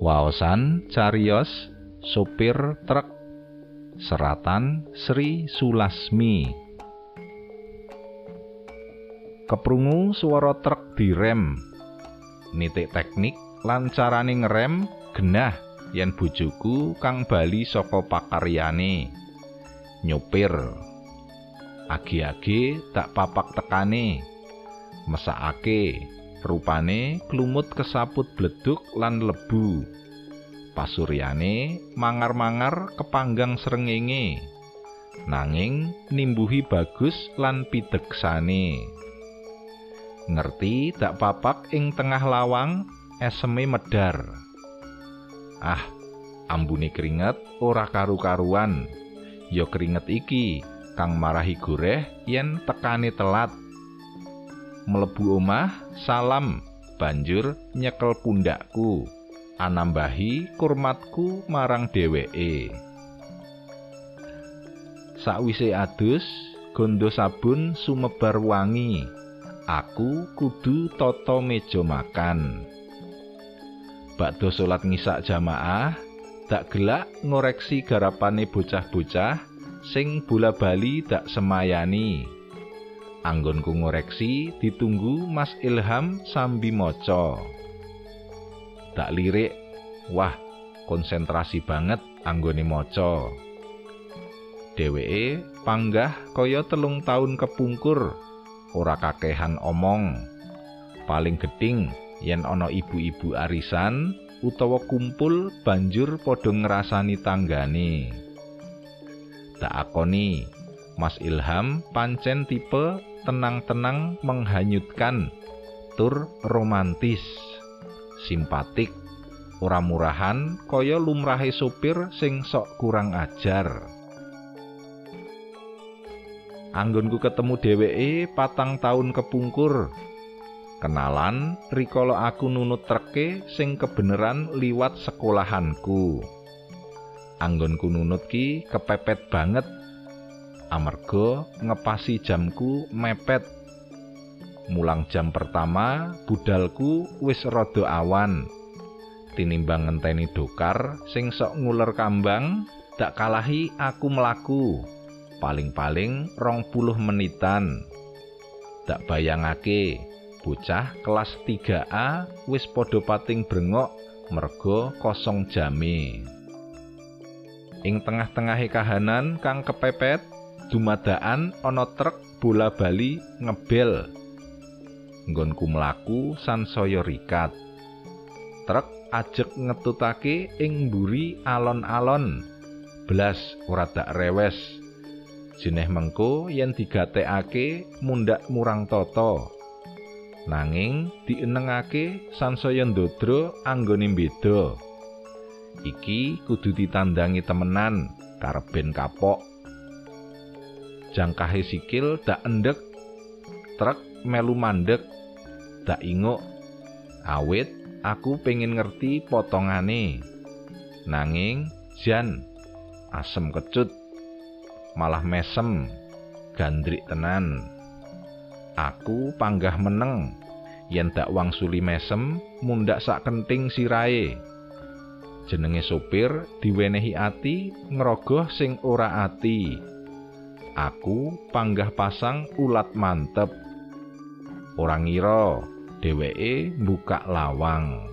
Waosan cariyos sopir truk seratan Sri Sulasmi. Keprungu swara truk direm. Nitik teknik lan carane ngerem genah yen bojoku kang bali saka pakaryane. Nyopir. Agi-agi tak papak tekane. Mesakake. Rupane klumut kesaput bleduk lan lebu. Pasuryane mangar-mangar kepanggang srengenge. Nanging nimbuhi bagus lan pideksane. Ngerti dak papak ing tengah lawang eseme medar. Ah, ambune keringet ora karu-karuan. Ya keringet iki kang marahi goreh yen tekane telat. Mlebu omah salam banjur nyekel pundakku anambahi kurmatku marang dheweke. Sakwise adus gondo sabun sumebar wangi, aku kudu tata meja makan. Bakda salat ngisak jamaah dak gelak ngoreksi garapane bocah-bocah sing bola-bali dak semayani. Anggonku ngoreksi ditunggu Mas Ilham sambi maca. Tak lirik, wah konsentrasi banget anggone maca. Dheweke panggah kaya 3 taun kepungkur, ora kakehan omong. Paling gedhing yen ana ibu-ibu arisan utawa kumpul banjur padha ngrasani tanggane. Tak akoni, Mas Ilham pancen tipe tenang-tenang menghanyutkan, tur romantis, simpatik, ora murahan kaya lumrahe sopir sing sok kurang ajar. Anggonku ketemu dheweke 4 taun kepungkur. Kenalan rikala aku nunut treke sing kebeneran liwat sekolahanku. Anggonku nunut ki kepepet banget. Amarga ngepasi jamku mepet. Mulang jam pertama budalku wis rada awan. Tinimbang ngenteni dokar sing sok nguler kambang, dak kalahi aku mlaku. Paling-paling 20 menitan. Dak bayangake bocah kelas 3A wis padha pating brengok merga kosong jame. Ing tengah-tengahe kahanan kang kepepet, dumadaan ana truk bola-bali ngebel. Nggonku mlaku sansaya rikat. Truk ajeg ngetutake ing mburi alon-alon. Blas ora dak rewes. Jeneh mengko yen digatekake mundhak murang tata. Nanging dienengake sansaya ndodro anggone beda. Iki kudu ditandangi temenan kareben kapok. Jangkahe sikil dak endek, truk melu mandek, dak inguk. Awit aku pengen ngerti potongane. Nanging jan asem kecut, malah mesem, gandrik tenan. Aku panggah meneng, yen dak wangsuli mesem mundhak sak kenting sirahe. Jenenge sopir diwenehi ati ngrogoh sing ora ati. Aku panggah pasang ulat mantep. Ora ngira dheweke mbukak lawang.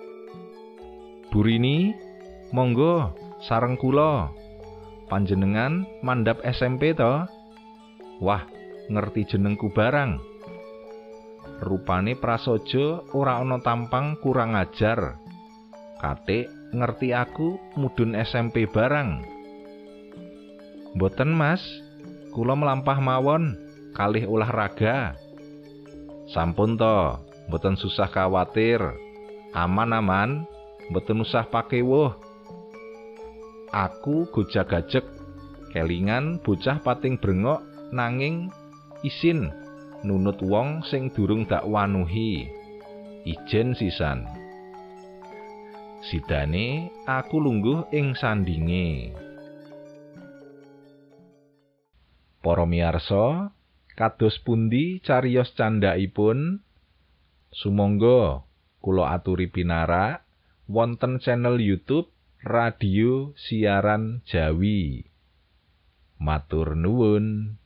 Burini, monggo sareng kula. Panjenengan mandhap SMP to? Wah, ngerti jenengku barang. Rupane prasaja ora ana tampang kurang ajar. Katik ngerti aku mudhun SMP barang. Mboten Mas, kula melampah mawon kalih olahraga. Sampun to, mboten susah khawatir. Aman-aman, mboten usah pakewuh. Aku gojag-gajeg, kelingan bocah pating brengok nanging isin nunut wong sing durung dak wanuhi. Ijen sisan. Sidane aku lungguh ing sandinge. Para miyarsa, kados pundi cariyos candhaipun? Sumangga kula aturi pinarak wonten channel YouTube Radio Siaran Jawi. Matur nuwun.